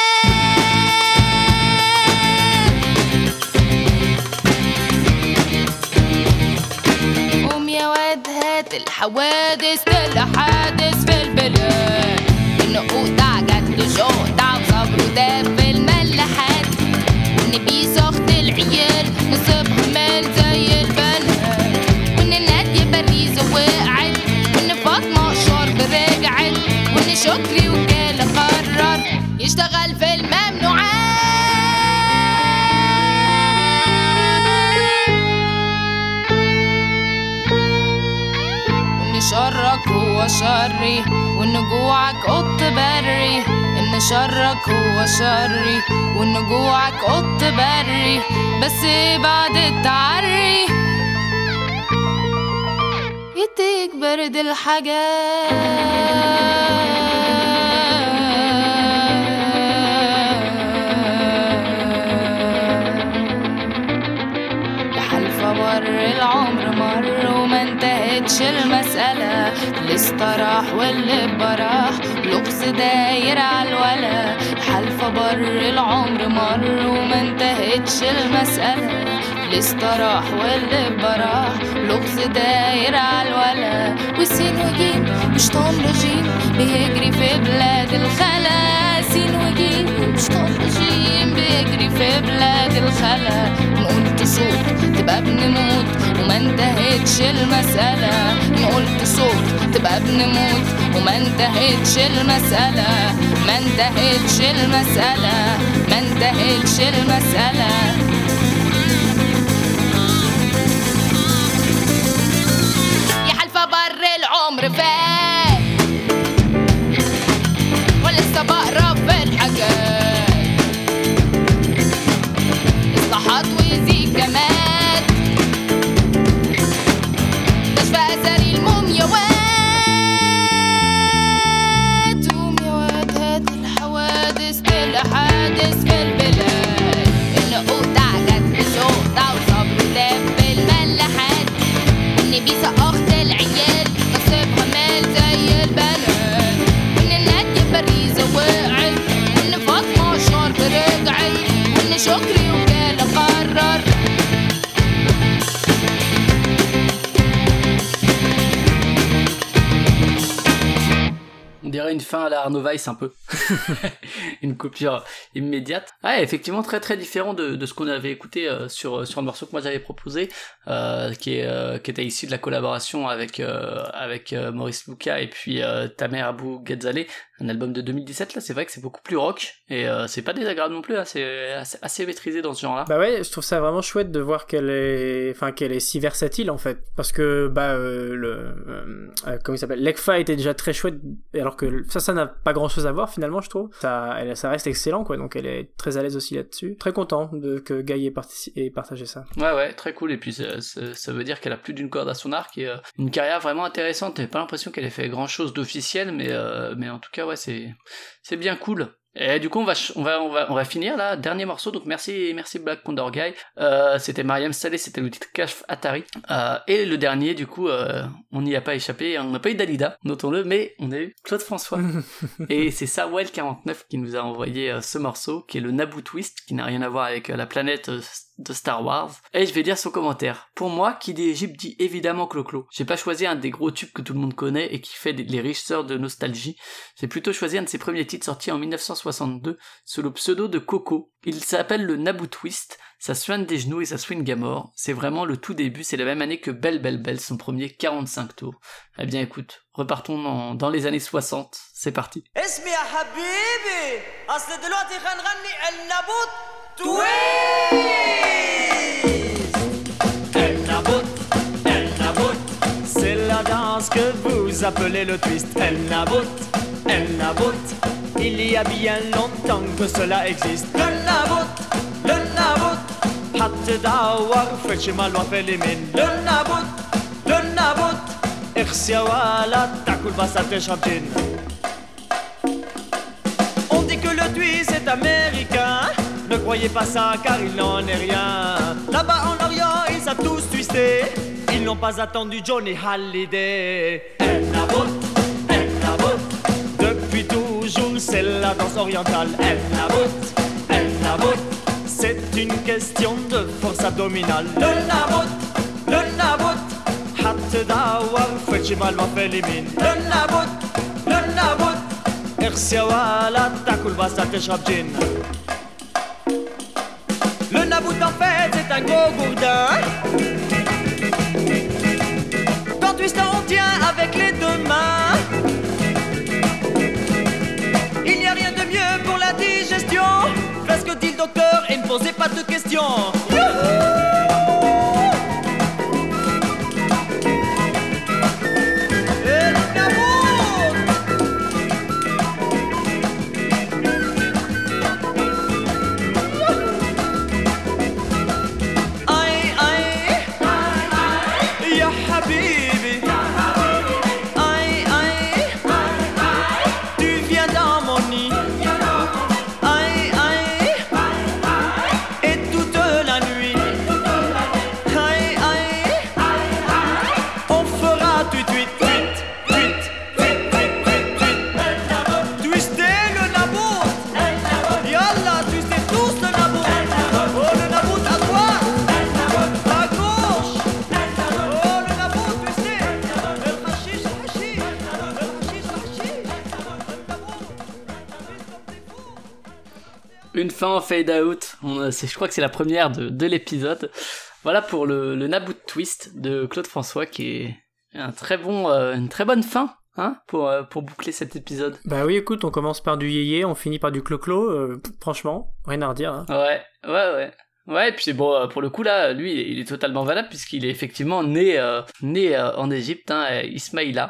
قوم يا واد هات الحوادث الحادث في البلاد. النقود عجت شقطع وصبره داب في الملاحات. والنبي سخط العيال نصيبها مال زي البنات. وان نادية باريزة وقعت. وان فاطمة شرب رجعت. وان شكري وكالة قرر يشتغل في الممنوعات. وان شرك هو شري. وان جوعك قط بري. ان شرك هو شري. وان جوعك قط بري. بس بعد التعري يديك برد الحاجات. بر العمر مر وما انتهتش المسألة. اللي استراح واللي براح لغز داير عالولا. الحلفة بر العمر مر وما انتهتش المسألة. اللي استراح واللي براح لغز داير عالولا. وسين وجيم وشطان رجيم بيجري في بلاد الخلا. سين وجيم وشطان رجيم بيجري في بلاد الخلا. نقول تصوت تبقى بنموت وما انتهتش المسألة. نقول تصوت تبقى بنموت وما انتهتش المسألة. ما انتهتش المسألة. ما انتهتش المسألة. يا حلفة بر العمر فات ولسه بقرا في الحاجات. اصلاحات وزيك كمان كشف اثر المومياوات. قوم يا واد هات الحوادث الحادث في البلاد. النقود عجت بشوطة وصبره داب في الملاحات. والنبي سقخت العيال نصيبها مال زي البنات. وان نادية باريزة وقعت. وان فاطمة شرب رجعت. وان شكري وكالة قرر On dirait une fin à la Arnaud Weiss un peu. Une coupure immédiate. Ouais, effectivement très très différent de ce qu'on avait écouté sur le morceau que moi j'avais proposé, qui était issu de la collaboration avec Maurice Luca et puis Tamer Abou Ghazaleh, un album de 2017 là. C'est vrai que c'est beaucoup plus rock et c'est pas désagréable non plus, hein, c'est assez maîtrisé dans ce genre-là. Bah ouais, je trouve ça vraiment chouette de voir qu'elle est si versatile en fait, parce que comment il s'appelle, Lekfa était déjà très chouette, alors que ça n'a pas grand chose à voir finalement, je trouve. Ça reste excellent quoi, donc elle est très à l'aise aussi là-dessus. Très content que Guy ait partagé ça. Ouais, très cool. Et puis ça veut dire qu'elle a plus d'une corde à son arc et une carrière vraiment intéressante. J'ai pas l'impression qu'elle ait fait grand chose d'officiel, mais en tout cas ouais, c'est bien cool. Et du coup, on va finir là, dernier morceau. Donc merci Black Condor Guy. C'était Mariam Saleh, c'était le titre Kashf Atari. Et le dernier, du coup, on n'y a pas échappé. On n'a pas eu Dalida, notons-le, mais on a eu Claude François. Et c'est Sawel 49 qui nous a envoyé ce morceau, qui est le Naboo Twist, qui n'a rien à voir avec la planète de Star Wars. Et je vais lire son commentaire. Pour moi, qui dit Égypte dit évidemment Clo-Clo. J'ai pas choisi un des gros tubes que tout le monde connaît et qui fait les riches sœurs de nostalgie. J'ai plutôt choisi un de ses premiers titres sortis en 1962 sous le pseudo de Coco. Il s'appelle le Naboo Twist. Ça soigne des genoux et ça swing à mort. C'est vraiment le tout début. C'est la même année que Belle Belle Belle, son premier 45 tours. Eh bien écoute, repartons dans les années 60. C'est parti. اسمي يا حبيبي اصل دلوقتي هنغني النابوت تويست. El Nabot, c'est la danse que vous appelez le twist. El Nabot, il y a bien longtemps que cela existe. Le Nabot, حتى دور في الشمال وفي اليمين. Le Nabot, اخس يا ولد تاكل بس تشرب جين. On dit que le twist est américain. Ne croyez pas ça car il n'en est rien. Là-bas en Orient ils savent tous twister. Ils n'ont pas attendu Johnny Hallyday. El Nabot, depuis toujours c'est la danse orientale. El Nabout, c'est une question de force abdominale. Le Nabout, هتدور في جمال ما في اليمين. Le Nabout, ارسي ولا تاكل بس تشرب جين. Le Nabout en fait c'est un gros gourdin. Quand Twister on tient avec les deux mains. Il n'y a rien de mieux pour la digestion. Faites ce que dit le docteur et ne posez pas de questions. Une fin en fade out. Je crois que c'est la première de l'épisode. Voilà pour le Nabout Twist de Claude François, qui est une très bonne fin, hein, pour boucler cet épisode. Bah oui, écoute, on commence par du yéyé, on finit par du clo-clo, franchement, rien à redire. Hein. Ouais. Ouais, et puis bon, pour le coup là, lui, il est totalement valable puisqu'il est effectivement né en Égypte, hein, Ismaïlia,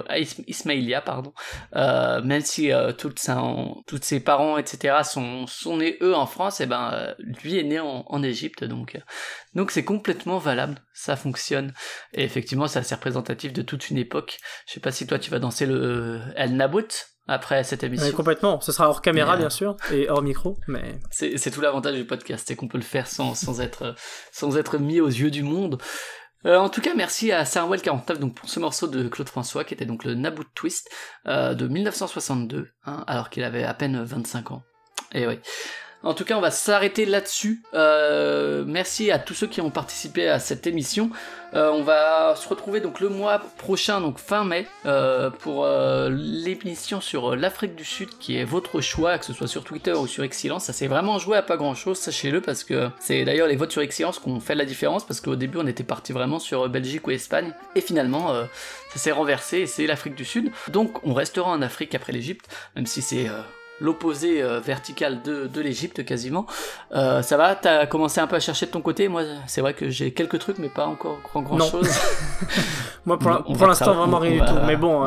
pardon. Même si tous ses parents, etc. sont nés eux en France, et ben lui est né en Égypte, donc c'est complètement valable, ça fonctionne. Et effectivement, c'est assez représentatif de toute une époque. Je sais pas si toi tu vas danser le El Nabout après cette émission. Complètement, ce sera hors caméra bien sûr, et hors micro, mais... C'est tout l'avantage du podcast, c'est qu'on peut le faire sans être mis aux yeux du monde. En tout cas, merci à Sarwell 49 donc, pour ce morceau de Claude François, qui était donc le Nabout Twist de 1962, hein, alors qu'il avait à peine 25 ans. Et oui. En tout cas, on va s'arrêter là-dessus. Merci à tous ceux qui ont participé à cette émission. On va se retrouver donc le mois prochain, donc fin mai, pour l'émission sur l'Afrique du Sud, qui est votre choix, que ce soit sur Twitter ou sur Excellence. Ça s'est vraiment joué à pas grand-chose, sachez-le, parce que c'est d'ailleurs les votes sur Excellence qui ont fait la différence, parce qu'au début on était parti vraiment sur Belgique ou Espagne, et finalement ça s'est renversé, et c'est l'Afrique du Sud. Donc on restera en Afrique après l'Égypte, même si c'est... l'opposé vertical de l'Égypte quasiment. Ça va, t'as commencé un peu à chercher de ton côté? Moi, c'est vrai que j'ai quelques trucs, mais pas encore grand chose. Moi, pour l'instant, vraiment rien du tout. Mais bon,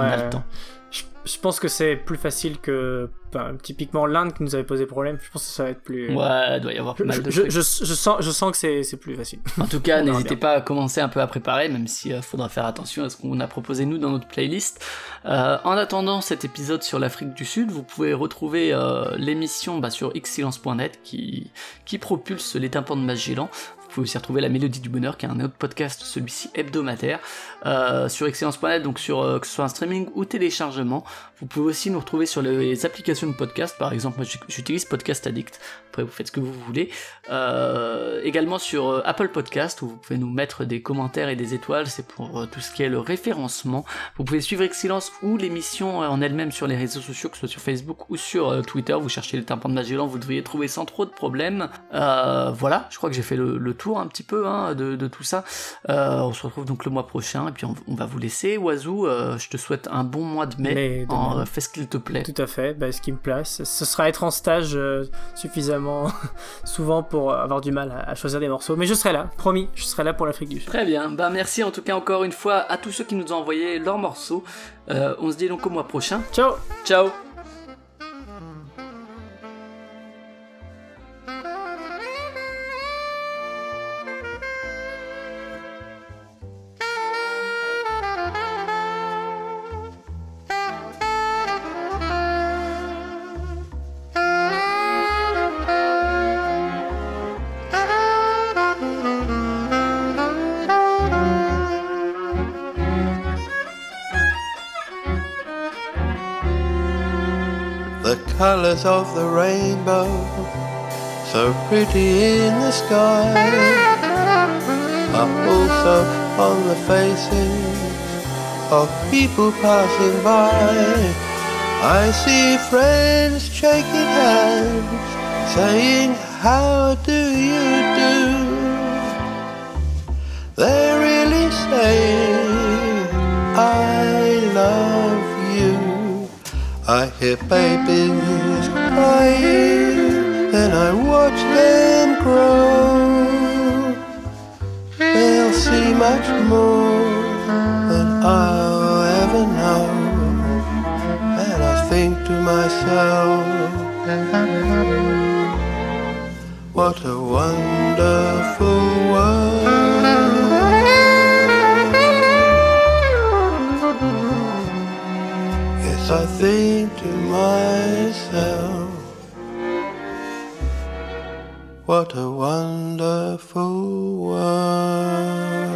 je pense que c'est plus facile que typiquement l'Inde qui nous avait posé problème. Je pense que ça va être plus... Ouais, il doit y avoir pas mal de trucs. Je sens que c'est plus facile. En tout cas, n'hésitez pas à commencer un peu à préparer, même si faudra faire attention à ce qu'on a proposé nous dans notre playlist. En attendant cet épisode sur l'Afrique du Sud, vous pouvez retrouver l'émission sur xsilence.net qui propulse les tympans de Magellan. Vous pouvez aussi retrouver La Mélodie du Bonheur, qui est un autre podcast, celui-ci hebdomadaire, sur Excellence.net, donc sur que ce soit un streaming ou téléchargement. Vous pouvez aussi nous retrouver sur les applications de podcast, par exemple, moi j'utilise Podcast Addict, après vous faites ce que vous voulez. Également sur Apple Podcast, où vous pouvez nous mettre des commentaires et des étoiles, c'est pour tout ce qui est le référencement. Vous pouvez suivre Excellence ou l'émission en elle-même sur les réseaux sociaux, que ce soit sur Facebook ou sur Twitter, vous cherchez les tympans de Magellan, vous devriez trouver sans trop de problèmes. Voilà, je crois que j'ai fait le tour un petit peu de tout ça. On se retrouve donc le mois prochain, et puis on va vous laisser. Oiseau, je te souhaite un bon mois de mai. Fais ce qu'il te plaît. Tout à fait, ce qui me place. Ce sera être en stage suffisamment souvent pour avoir du mal à choisir des morceaux, mais je serai là, promis, je serai là pour l'Afrique du Sud. Très bien, merci en tout cas encore une fois à tous ceux qui nous ont envoyé leurs morceaux. On se dit donc au mois prochain. Ciao. the colors of the rainbow, so pretty in the sky, are also on the faces of people passing by. I see friends shaking hands, saying, how do you do? They're really saying, I love you. I hear babies crying, then I watch them grow. They'll see much more than I'll ever know. And I think to myself, what a wonderful world. Yes, I think to myself, what a wonderful world.